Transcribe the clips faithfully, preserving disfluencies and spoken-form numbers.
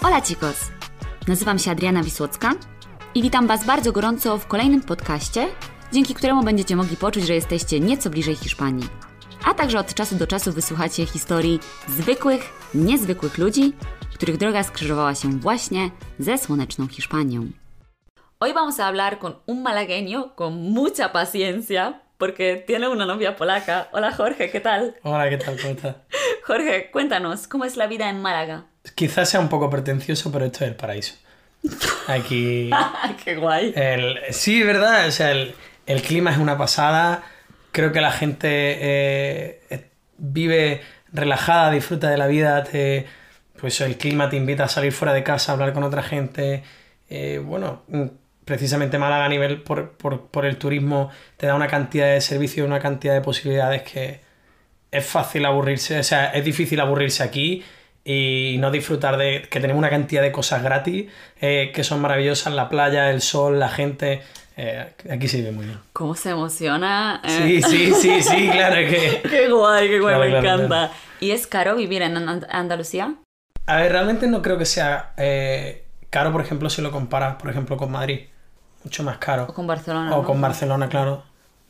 Hola chicos! Nazywam się Adriana Wisłocka i witam Was bardzo gorąco w kolejnym podcaście, dzięki któremu będziecie mogli poczuć, że jesteście nieco bliżej Hiszpanii. A także od czasu do czasu wysłuchacie historii zwykłych, niezwykłych ludzi, których droga skrzyżowała się właśnie ze słoneczną Hiszpanią. Hoy vamos a hablar con un malagueño con mucha paciencia, porque tiene una novia polaca. Hola Jorge, ¿qué tal? Hola, ¿qué tal? ¿Cómo estás? Jorge, cuéntanos, ¿cómo es la vida en Málaga? Quizás sea un poco pretencioso, pero esto es el paraíso. Aquí... ¡Qué guay! El, sí, ¿verdad? O sea, el, el clima es una pasada. Creo que la gente eh, vive relajada, disfruta de la vida. Te, pues el clima te invita a salir fuera de casa, a hablar con otra gente. Eh, bueno, precisamente Málaga a nivel por, por, por el turismo te da una cantidad de servicios, una cantidad de posibilidades que es fácil aburrirse. O sea, es difícil aburrirse aquí y no disfrutar de que tenemos una cantidad de cosas gratis eh, que son maravillosas, la playa, el sol, la gente. Eh, aquí se vive muy bien. ¿Cómo se emociona? Sí, sí, sí, sí, claro que... ¡Qué guay, qué guay! Claro, me claro, encanta. claro. ¿Y es caro vivir en And- Andalucía? A ver, realmente no creo que sea eh, caro, por ejemplo, si lo comparas, por ejemplo, con Madrid. Mucho más caro. ¿O con Barcelona? O ¿no? con Barcelona, claro.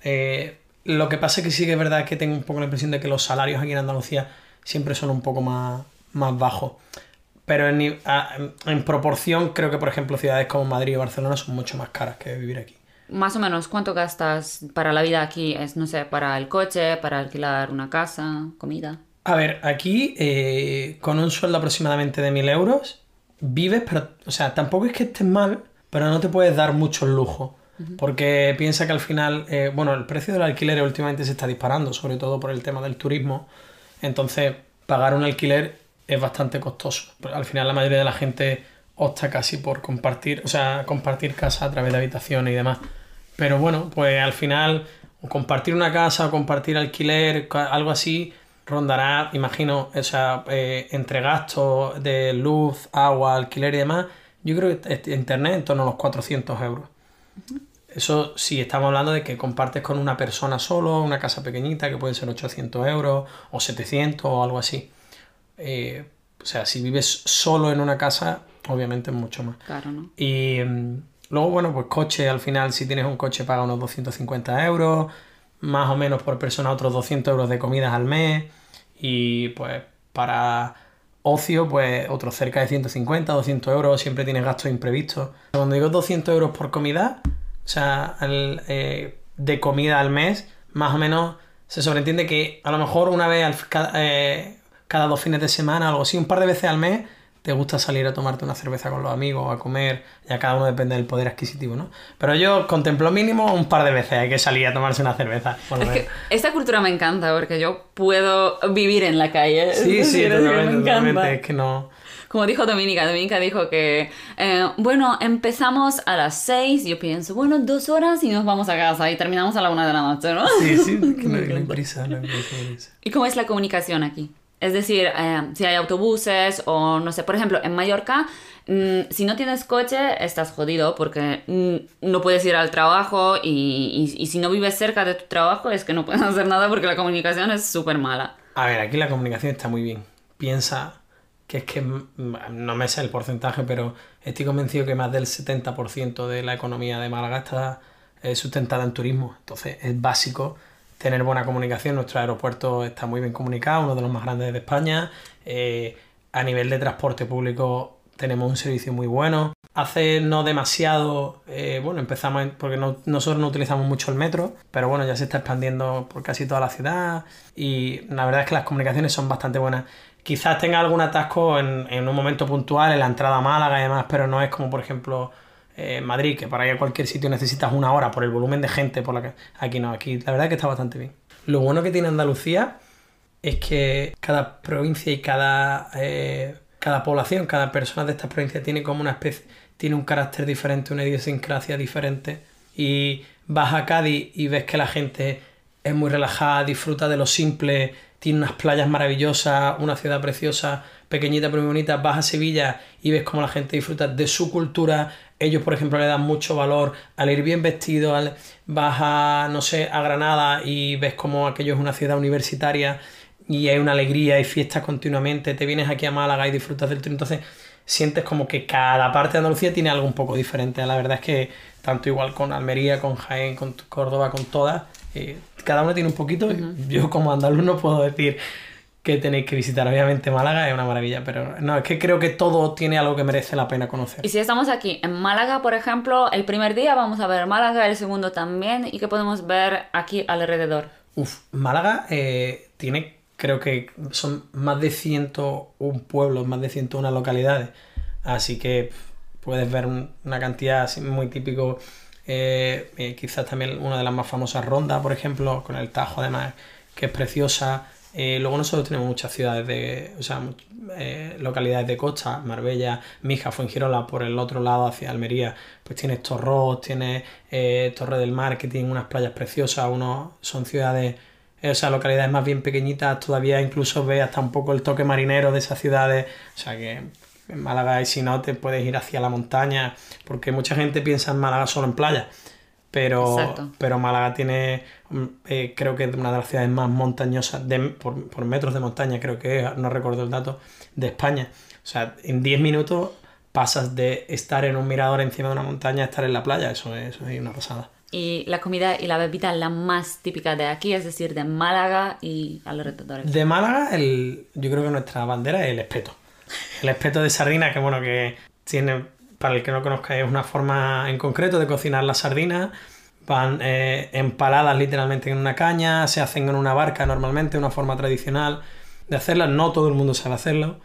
Eh, lo que pasa es que sí que es verdad que tengo un poco la impresión de que los salarios aquí en Andalucía siempre son un poco más, más bajos. Pero en, a, en proporción creo que, por ejemplo, ciudades como Madrid o Barcelona son mucho más caras que vivir aquí. Más o menos, ¿cuánto gastas para la vida aquí? Es, no sé, para el coche, para alquilar una casa, comida. A ver, aquí eh, con un sueldo aproximadamente de mil euros vives, pero, o sea, tampoco es que estés mal, pero no te puedes dar muchos lujos. Uh-huh. Porque piensa que al final, eh, bueno, el precio del alquiler últimamente se está disparando, sobre todo por el tema del turismo. Entonces, pagar un alquiler es bastante costoso. Al final la mayoría de la gente opta casi por compartir, o sea, compartir casa a través de habitaciones y demás. Pero bueno, pues al final, o compartir una casa o compartir alquiler, algo así, rondará, imagino, o sea, eh, entre gastos de luz, agua, alquiler y demás, yo creo que internet en torno a los cuatrocientos euros. Uh-huh. Eso sí, estamos hablando de que compartes con una persona solo, una casa pequeñita, que puede ser ochocientos euros o setecientos o algo así. Eh, o sea, si vives solo en una casa, obviamente es mucho más. Claro, ¿no? Y um, luego, bueno, pues coche, al final, si tienes un coche paga unos doscientos cincuenta euros, más o menos por persona otros doscientos euros de comidas al mes, y pues para ocio, pues otros cerca de ciento cincuenta, doscientos euros, siempre tienes gastos imprevistos. Cuando digo doscientos euros por comida, o sea, el, eh, de comida al mes, más o menos se sobreentiende que a lo mejor una vez al, cada, eh, cada dos fines de semana, algo así, un par de veces al mes, te gusta salir a tomarte una cerveza con los amigos, a comer, ya cada uno depende del poder adquisitivo, ¿no? Pero yo contemplo mínimo un par de veces hay que salir a tomarse una cerveza. Es que esta cultura me encanta porque yo puedo vivir en la calle. Sí, sí, decir, totalmente, me totalmente, es que no... Como dijo Dominica, Dominica dijo que, eh, bueno, empezamos a las seis, yo pienso, bueno, dos horas y nos vamos a casa y terminamos a la una de la noche, ¿no? Sí, sí, que no, no hay prisa, no hay prisa. ¿Y cómo es la comunicación aquí? Es decir, eh, si hay autobuses o no sé, por ejemplo, en Mallorca, mmm, si no tienes coche, estás jodido porque mmm, no puedes ir al trabajo y, y, y si no vives cerca de tu trabajo es que no puedes hacer nada porque la comunicación es súper mala. A ver, aquí la comunicación está muy bien. Piensa que es que, no me sé el porcentaje, pero estoy convencido que más del setenta por ciento de la economía de Málaga está eh, sustentada en turismo. Entonces es básico tener buena comunicación. Nuestro aeropuerto está muy bien comunicado, uno de los más grandes de España. Eh, a nivel de transporte público tenemos un servicio muy bueno. Hace no demasiado, eh, bueno, empezamos, en, porque no, nosotros no utilizamos mucho el metro, pero bueno, ya se está expandiendo por casi toda la ciudad y la verdad es que las comunicaciones son bastante buenas. Quizás tenga algún atasco en, en un momento puntual, en la entrada a Málaga y demás, pero no es como, por ejemplo, eh, Madrid, que para ir a cualquier sitio necesitas una hora por el volumen de gente. Por la que... Aquí no, aquí la verdad es que está bastante bien. Lo bueno que tiene Andalucía es que cada provincia y cada, eh, cada población, cada persona de estas provincias tiene como una especie, tiene un carácter diferente, una idiosincrasia diferente. Y vas a Cádiz y ves que la gente es muy relajada, disfruta de lo simple, tiene unas playas maravillosas, una ciudad preciosa, pequeñita pero muy bonita. Vas a Sevilla y ves cómo la gente disfruta de su cultura. Ellos, por ejemplo, le dan mucho valor al ir bien vestido. Al... Vas a, no sé, a Granada y ves cómo aquello es una ciudad universitaria y hay una alegría y fiestas continuamente. Te vienes aquí a Málaga y disfrutas del turismo. Entonces, sientes como que cada parte de Andalucía tiene algo un poco diferente. La verdad es que tanto igual con Almería, con Jaén, con Córdoba, con todas, eh, cada uno tiene un poquito. Uh-huh. Yo como andaluz no puedo decir que tenéis que visitar. Obviamente Málaga es una maravilla, pero no, es que creo que todo tiene algo que merece la pena conocer. Y si estamos aquí en Málaga, por ejemplo, el primer día vamos a ver Málaga, el segundo también, ¿y qué podemos ver aquí alrededor? Uf, Málaga eh, tiene, creo que son más de ciento uno pueblos, más de ciento una localidades, así que puedes ver un, una cantidad así muy típico, eh, eh, quizás también una de las más famosas, Ronda, por ejemplo, con el Tajo además, que es preciosa. Eh, luego nosotros tenemos muchas ciudades de, o sea, eh, localidades de costa, Marbella, Mija, Fuengirola, por el otro lado hacia Almería, pues tienes Torrós, tienes eh, Torre del Mar, que tienen unas playas preciosas, unos son ciudades, eh, o sea, localidades más bien pequeñitas, todavía incluso ves hasta un poco el toque marinero de esas ciudades, o sea que en Málaga, y si no, te puedes ir hacia la montaña, porque mucha gente piensa en Málaga solo en playa. Pero, pero Málaga tiene, eh, creo que es una de las ciudades más montañosas, de, por, por metros de montaña, creo que es, no recuerdo el dato, de España. O sea, en diez minutos pasas de estar en un mirador encima de una montaña a estar en la playa. Eso es, eso es una pasada. Y la comida y la bebida la más típica de aquí, es decir, de Málaga y alrededores. De Málaga, el, yo creo que nuestra bandera es el espeto. El espeto de sardina, que bueno, que tiene... Para el que no conozca, es una forma en concreto de cocinar las sardinas. Van eh, empaladas literalmente en una caña, se hacen en una barca normalmente, una forma tradicional de hacerlas. No todo el mundo sabe hacerlo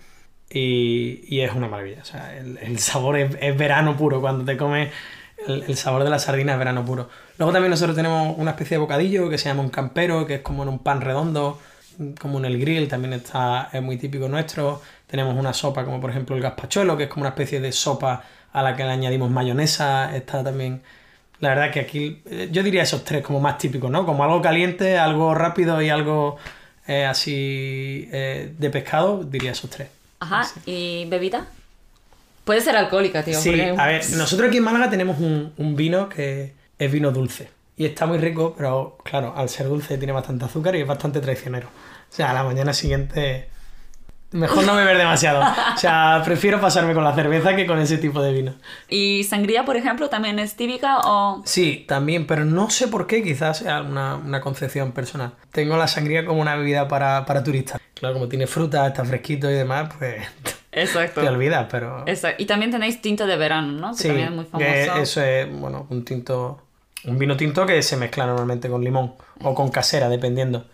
y, y es una maravilla. O sea, el, el sabor es, es verano puro. Cuando te comes el, el sabor de la sardina es verano puro. Luego también nosotros tenemos una especie de bocadillo que se llama un campero, que es como en un pan redondo, como en el grill, también está, es muy típico nuestro. Tenemos una sopa como por ejemplo el gazpachuelo, que es como una especie de sopa a la que le añadimos mayonesa. Está también, la verdad que aquí yo diría esos tres como más típicos, ¿no? Como algo caliente, algo rápido y algo eh, así eh, de pescado, diría esos tres. Ajá, sí. ¿Y bebida? Puede ser alcohólica, tío. Sí, porque... a ver, nosotros aquí en Málaga tenemos un, un vino que es vino dulce y está muy rico, pero claro, al ser dulce tiene bastante azúcar y es bastante traicionero. O sea, a la mañana siguiente... Mejor no beber demasiado. O sea, prefiero pasarme con la cerveza que con ese tipo de vino. ¿Y sangría, por ejemplo, también es típica o...? Sí, también, pero no sé por qué, quizás sea una, una concepción personal. Tengo la sangría como una bebida para, para turistas. Claro, como tiene fruta, está fresquito y demás, pues... Exacto. Te olvidas, pero... Exacto. Y también tenéis tinto de verano, ¿no? Que sí, también es muy famoso. Que eso es, bueno, un tinto... Un vino tinto que se mezcla normalmente con limón o con casera, dependiendo.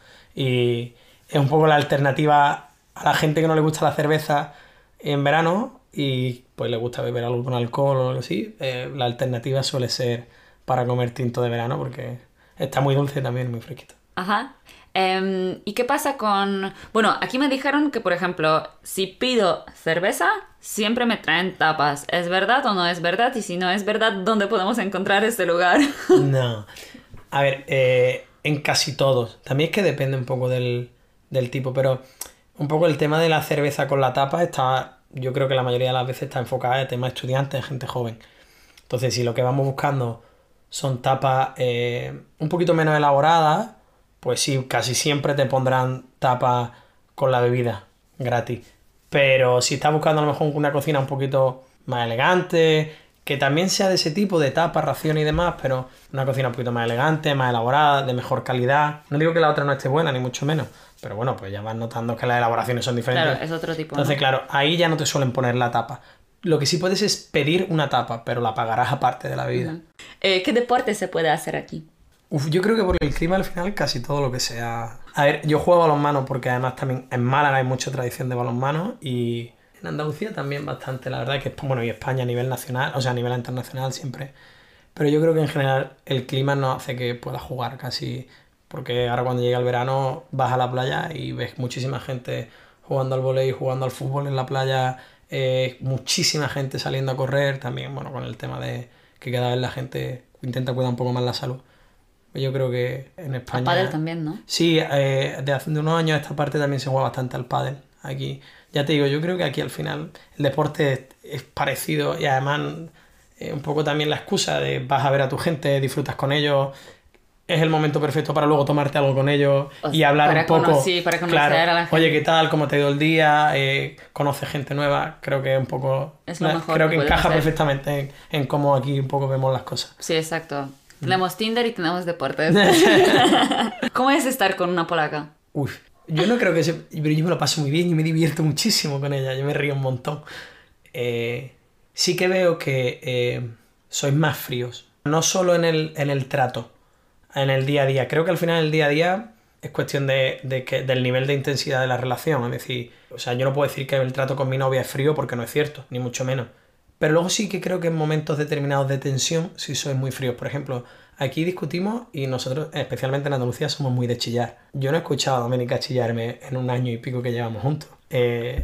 Y es un poco la alternativa... a la gente que no le gusta la cerveza en verano y pues le gusta beber algo con alcohol o algo así, eh, la alternativa suele ser para comer tinto de verano porque está muy dulce también, muy fresquito. Ajá. Um, ¿Y qué pasa con...? Bueno, aquí me dijeron que, por ejemplo, si pido cerveza, siempre me traen tapas. ¿Es verdad o no es verdad? Y si no es verdad, ¿dónde podemos encontrar este lugar? No. A ver, eh, en casi todos. También es que depende un poco del, del tipo, pero... Un poco el tema de la cerveza con la tapa está, yo creo que la mayoría de las veces está enfocada en temas estudiantes, gente joven. Entonces, si lo que vamos buscando son tapas eh, un poquito menos elaboradas, pues sí, casi siempre te pondrán tapas con la bebida gratis. Pero si estás buscando a lo mejor una cocina un poquito más elegante, que también sea de ese tipo de tapas, raciones y demás, pero una cocina un poquito más elegante, más elaborada, de mejor calidad. No digo que la otra no esté buena, ni mucho menos. Pero bueno, pues ya vas notando que las elaboraciones son diferentes. Claro, es otro tipo. Entonces, ¿no? claro, ahí ya no te suelen poner la tapa. Lo que sí puedes es pedir una tapa, pero la pagarás aparte de la bebida. Uh-huh. eh, ¿Qué deporte se puede hacer aquí? Uf, yo creo que por el clima al final casi todo lo que sea... A ver, yo juego balonmano porque además también en Málaga hay mucha tradición de balonmano y en Andalucía también bastante. La verdad es que, bueno, y España a nivel nacional, o sea, a nivel internacional siempre. Pero yo creo que en general el clima no hace que puedas jugar casi... Porque ahora cuando llega el verano vas a la playa y ves muchísima gente jugando al vóley, jugando al fútbol en la playa, eh, muchísima gente saliendo a correr, también bueno con el tema de que cada vez la gente intenta cuidar un poco más la salud. Yo creo que en España... El pádel también, ¿no? Sí, eh, de hace unos años esta parte también se juega bastante al pádel aquí. Ya te digo, yo creo que aquí al final el deporte es, es parecido y además eh, un poco también la excusa de vas a ver a tu gente, disfrutas con ellos... es el momento perfecto para luego tomarte algo con ellos O y hablar para un poco. cono- sí, para conocer claro, a la gente. Oye, ¿qué tal? ¿Cómo te ha ido el día? Eh, conoce gente nueva. Creo que es un poco. Es lo mejor creo que que puedes encaja hacer. perfectamente en, en cómo aquí un poco vemos las cosas. Sí, exacto. Tenemos Tinder y tenemos deportes. ¿Cómo es estar con una polaca? Uy, yo no creo que se... Pero yo me lo paso muy bien y me divierto muchísimo con ella. Yo me río un montón. Eh, sí que veo que eh, sois más fríos. No solo en el, en el trato, en el día a día. Creo que al final el día a día es cuestión de, de que, del nivel de intensidad de la relación. Es decir, o sea, yo no puedo decir que el trato con mi novia es frío porque no es cierto, ni mucho menos. Pero luego sí que creo que en momentos determinados de tensión sí sois muy fríos. Por ejemplo, aquí discutimos y nosotros, especialmente en Andalucía, somos muy de chillar. Yo no he escuchado a Doménica chillarme en un año y pico que llevamos juntos. Eh,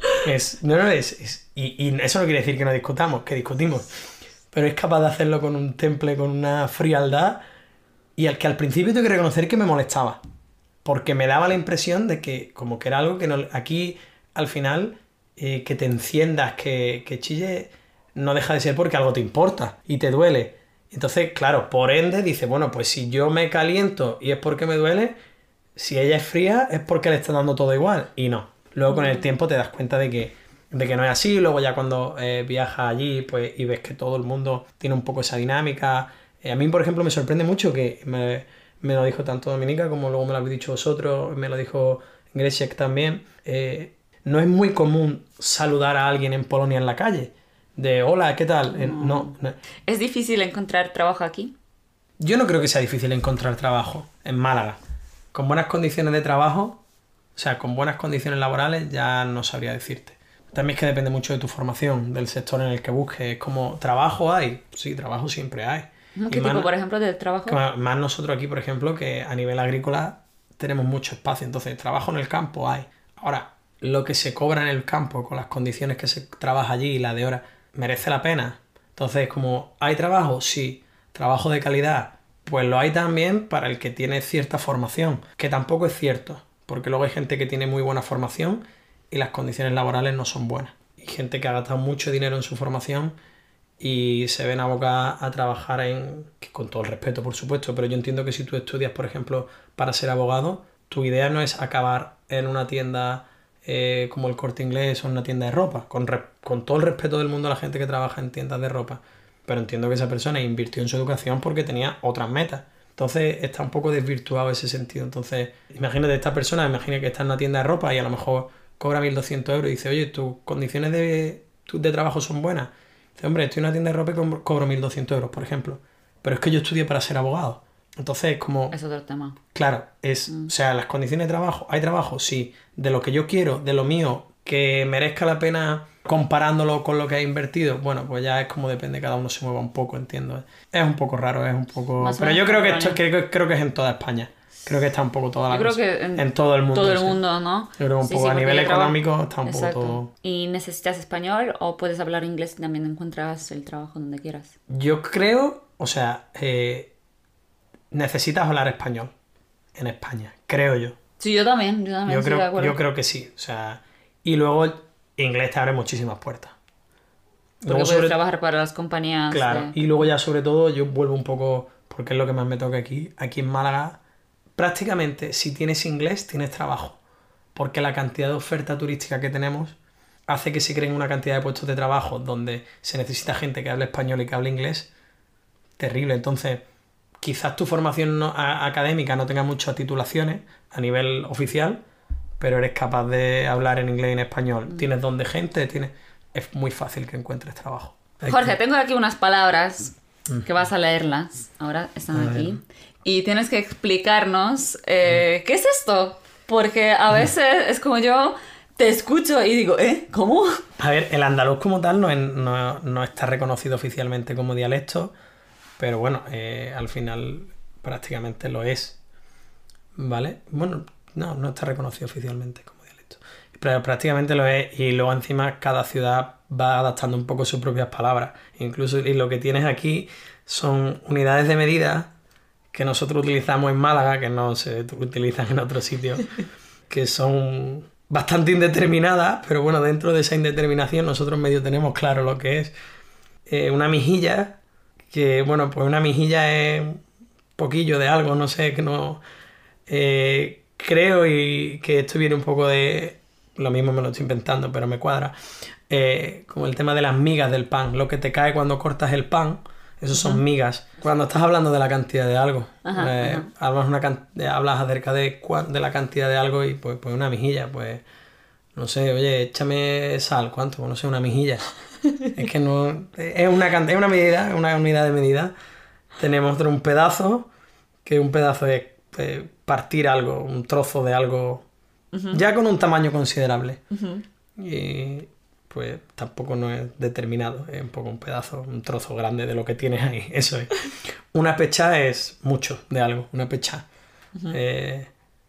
es, no, no, es, es y, y eso no quiere decir que no discutamos, que discutimos. Pero es capaz de hacerlo con un temple, con una frialdad, y al que al principio tengo que reconocer que me molestaba. Porque me daba la impresión de que como que era algo que no, aquí al final eh, que te enciendas, que, que chille, no deja de ser porque algo te importa y te duele. Entonces, claro, por ende dice, bueno, pues si yo me caliento y es porque me duele, si ella es fría es porque le está dando todo igual. Y no. Luego con el tiempo te das cuenta de que, de que no es así. Luego ya cuando eh, viajas allí pues, y ves que todo el mundo tiene un poco esa dinámica. Eh, a mí, por ejemplo, me sorprende mucho que me, me lo dijo tanto Dominica como luego me lo habéis dicho vosotros, me lo dijo Gresiek también. Eh, no es muy común saludar a alguien en Polonia en la calle. De hola, ¿qué tal? Eh, no, no. ¿Es difícil encontrar trabajo aquí? Yo no creo que sea difícil encontrar trabajo en Málaga. Con buenas condiciones de trabajo, o sea, con buenas condiciones laborales, ya no sabría decirte. También es que depende mucho de tu formación, del sector en el que busques. Como trabajo hay, sí, trabajo siempre hay. ¿Qué Y tipo, más, por ejemplo, de trabajo? más más nosotros aquí, por ejemplo, que a nivel agrícola tenemos mucho espacio. Entonces, trabajo en el campo hay. Ahora, lo que se cobra en el campo con las condiciones que se trabaja allí y la de hora, ¿merece la pena? Entonces, como ¿hay trabajo? Sí. ¿Trabajo de calidad? Pues lo hay también para el que tiene cierta formación, que tampoco es cierto, porque luego hay gente que tiene muy buena formación y las condiciones laborales no son buenas. Y gente que ha gastado mucho dinero en su formación y se ven abocadas a trabajar en... que con todo el respeto, por supuesto, pero yo entiendo que si tú estudias, por ejemplo, para ser abogado, tu idea no es acabar en una tienda eh, como el Corte Inglés o en una tienda de ropa, con, re- con todo el respeto del mundo a la gente que trabaja en tiendas de ropa. Pero entiendo que esa persona invirtió en su educación porque tenía otras metas. Entonces está un poco desvirtuado ese sentido. Entonces, imagínate esta persona, imagina que está en una tienda de ropa y a lo mejor cobra mil doscientos euros y dice, oye, tus condiciones de, de trabajo son buenas. Dice, hombre, estoy en una tienda de ropa y co- cobro mil doscientos euros, por ejemplo. Pero es que yo estudié para ser abogado. Entonces, como... Es otro tema. Claro, es, Mm. o sea, las condiciones de trabajo, hay trabajo, sí, de lo que yo quiero, de lo mío, que merezca la pena comparándolo con lo que ha invertido, bueno, pues ya es como depende, cada uno se mueva un poco, entiendo. Es un poco raro, es un poco... Más o Pero yo menos creo que, contemporáneo. esto, creo, creo que es en toda España. Creo que está un poco toda la Yo creo cosa. que en, en todo el mundo. todo el sí. mundo, ¿no? Yo creo que un Sí, poco sí, a porque nivel yo trabajo- económico está un Exacto. poco todo... ¿Y necesitas español o puedes hablar inglés y también encuentras el trabajo donde quieras? Yo creo, o sea, eh, necesitas hablar español en España, creo yo. Sí, yo también, yo también Yo estoy de creo, acuerdo. yo creo que sí. O sea, y luego inglés te abre muchísimas puertas. Porque Luego puedes sobre- trabajar para las compañías. Claro, de- y luego ya sobre todo yo vuelvo un poco, porque es lo que más me toca aquí, aquí en Málaga, prácticamente si tienes inglés tienes trabajo, porque la cantidad de oferta turística que tenemos hace que se creen una cantidad de puestos de trabajo donde se necesita gente que hable español y que hable inglés, terrible. Entonces, quizás tu formación no- a- académica no tenga muchas titulaciones a nivel oficial, pero eres capaz de hablar en inglés y en español. Tienes don de gente, tienes... es muy fácil que encuentres trabajo. Hay Jorge, que- tengo aquí unas palabras que vas a leerlas. Ahora están A aquí. ver. Y tienes que explicarnos eh, qué es esto. Porque a veces es como yo te escucho y digo, ¿eh? ¿Cómo? A ver, el andaluz como tal no, es- no- no está reconocido oficialmente como dialecto, pero bueno, eh, al final prácticamente lo es, ¿vale? Bueno, no, no está reconocido oficialmente como dialecto, pero prácticamente lo es, y luego encima cada ciudad va adaptando un poco sus propias palabras, incluso y lo que tienes aquí son unidades de medida que nosotros utilizamos en Málaga, que no se utilizan en otros sitios, que son bastante indeterminadas, pero bueno, dentro de esa indeterminación nosotros medio tenemos claro lo que es eh, una mejilla, que bueno, pues una mejilla es poquillo de algo, no sé, que no... Eh, creo y que esto viene un poco de... Lo mismo me lo estoy inventando, pero me cuadra. Eh, como el tema de las migas del pan. Lo que te cae cuando cortas el pan, eso son uh-huh. migas. Cuando estás hablando de la cantidad de algo, uh-huh, eh, uh-huh. hablas, una can... hablas acerca de, de la cantidad de algo y pues, pues una mijilla, pues... No sé, oye, échame sal, ¿cuánto? Pues no sé, una mijilla. Es que no... Es una, es una medida, una unidad de medida. Tenemos un pedazo, que un pedazo es eh, partir algo, un trozo de algo... Uh-huh. Ya con un tamaño considerable. Uh-huh. Y pues tampoco no es determinado, es un poco un pedazo, un trozo grande de lo que tienes ahí, eso es. Una pecha es mucho de algo, una pecha. Uh-huh. Eh,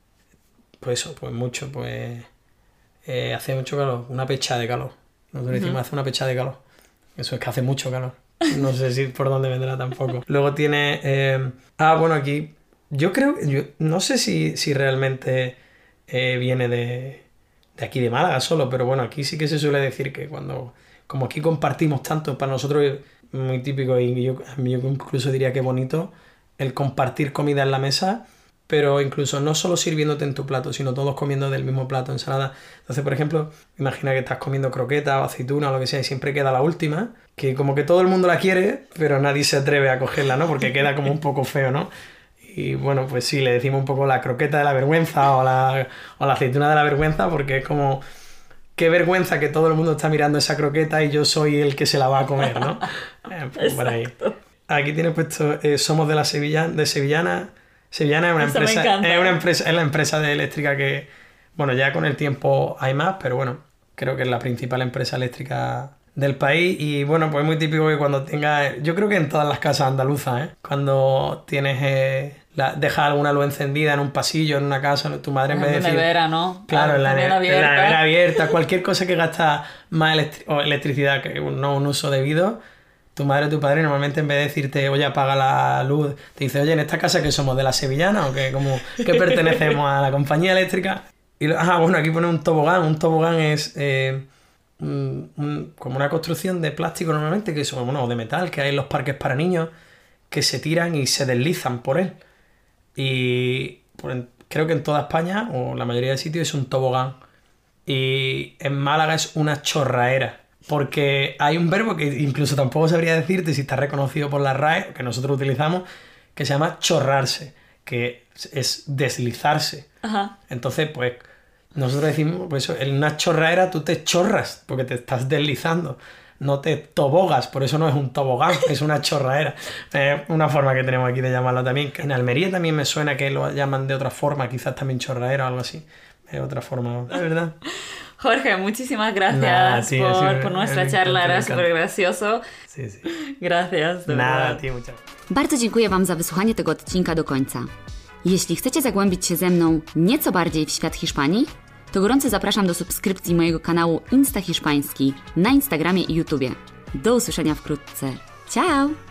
pues eso, pues mucho, pues eh, hace mucho calor, una pecha de calor. Nosotros decimos uh-huh. hace una pecha de calor. Eso es que hace mucho calor. No sé si por dónde vendrá tampoco. Luego tiene... Eh, ah, bueno, aquí... Yo creo... Yo, no sé si, si realmente... Eh, viene de, de aquí de Málaga solo, pero bueno, aquí sí que se suele decir que cuando, como aquí compartimos tanto, para nosotros es muy típico y yo, yo incluso diría que bonito el compartir comida en la mesa, pero incluso no solo sirviéndote en tu plato, sino todos comiendo del mismo plato, ensalada. Entonces, por ejemplo, imagina que estás comiendo croqueta o aceituna o lo que sea y siempre queda la última, que como que todo el mundo la quiere, pero nadie se atreve a cogerla, ¿no? Porque queda como un poco feo, ¿no? Y bueno, pues sí, le decimos un poco la croqueta de la vergüenza o la, o la aceituna de la vergüenza, porque es como, qué vergüenza que todo el mundo está mirando esa croqueta y yo soy el que se la va a comer, ¿no? Eh, pues por ahí. Aquí tiene puesto, eh, somos de la Sevilla, de Sevillana. Sevillana es una Eso empresa, me encanta. es una empresa, es la empresa de eléctrica que, bueno, ya con el tiempo hay más, pero bueno, creo que es la principal empresa eléctrica del país. Y bueno, pues es muy típico que cuando tengas, yo creo que en todas las casas andaluzas, ¿eh? Cuando tienes, eh, la, dejas alguna luz encendida en un pasillo, en una casa, tu madre en, en vez de decir... nevera, ¿no? Claro, en la, nevera ne- en la nevera abierta, cualquier cosa que gasta más electri- o electricidad que un, no un uso debido, tu madre o tu padre normalmente en vez de decirte, oye, apaga la luz, te dice, oye, ¿en esta casa que somos de la Sevillana o que como que pertenecemos a la compañía eléctrica? Y, ah, bueno, aquí pone un tobogán. Un tobogán es... Eh, Un, un, como una construcción de plástico normalmente, que son, bueno, o de metal, que hay en los parques para niños, que se tiran y se deslizan por él. Y pues, creo que en toda España, o la mayoría de sitios, es un tobogán. Y en Málaga es una chorraera. Porque hay un verbo que incluso tampoco sabría decirte si está reconocido por la R A E, que nosotros utilizamos, que se llama chorrarse, que es deslizarse. Ajá. Entonces, pues... Nosotros decimos, pues eso, en una chorraera tú te chorras porque te estás deslizando, no te tobogas, por eso no es un tobogán, es una chorraera. Es una forma que tenemos aquí de llamarlo también. En Almería también me suena que lo llaman de otra forma, quizás también chorraera o algo así. Es otra forma, la verdad. Jorge, muchísimas gracias nah, tío, por, sí, por nuestra charla, era súper gracioso. Sí, sí. Gracias. Nada, tío, muchas Bardzo dziękuję Wam za wysłuchanie tego odcinka do końca. Jeśli chcecie zagłębić się ze mną nieco bardziej w świat Hiszpanii, to gorąco zapraszam do subskrypcji mojego kanału Insta Hiszpański na Instagramie i YouTubie. Do usłyszenia wkrótce. Ciao!